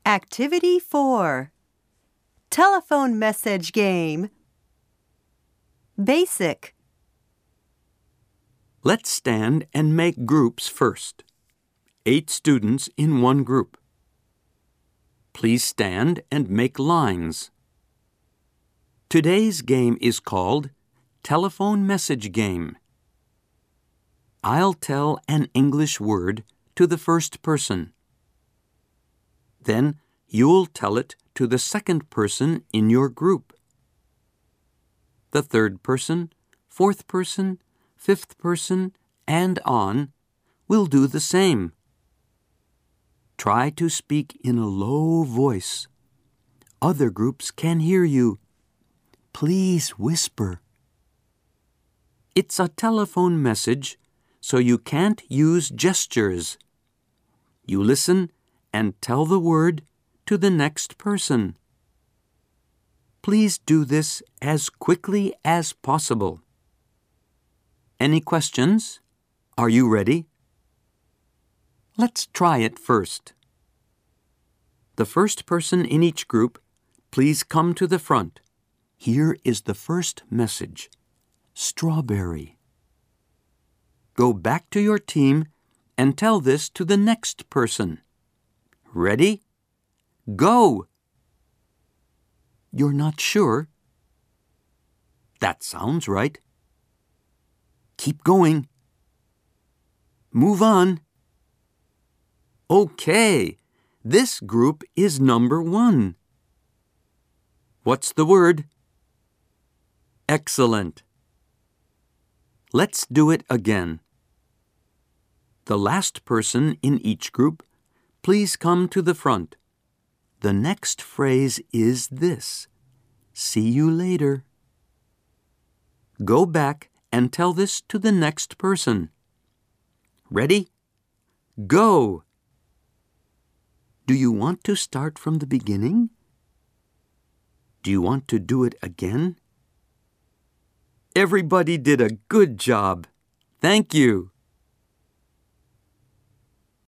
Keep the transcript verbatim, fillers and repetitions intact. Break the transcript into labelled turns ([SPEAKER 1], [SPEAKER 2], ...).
[SPEAKER 1] Activity four. Telephone message game. Basic.
[SPEAKER 2] Let's stand and make groups first. Eight students in one group. Please stand and make lines. Today's game is called Telephone Message Game. I'll tell an English word to the first person. Then you'll tell it to the second person in your group. The third person, fourth person, fifth person, and on will do the same. Try to speak in a low voice. Other groups can hear you. Please whisper. It's a telephone message, so you can't use gestures. You listen and tell the word to the next person. Please do this as quickly as possible. Any questions? Are you ready? Let's try it first. The first person in each group, please come to the front. Here is the first message. Strawberry. Go back to your team and tell this to the next person. Ready? Go! You're not sure? That sounds right. Keep going. Move on. Okay, this group is number one. What's the word? Excellent. Let's do it again. The last person in each group, please come to the front. The next phrase is this: see you later. Go back and tell this to the next person. Ready? Go! Do you want to start from the beginning? Do you want to do it again? Everybody did a good job. Thank you.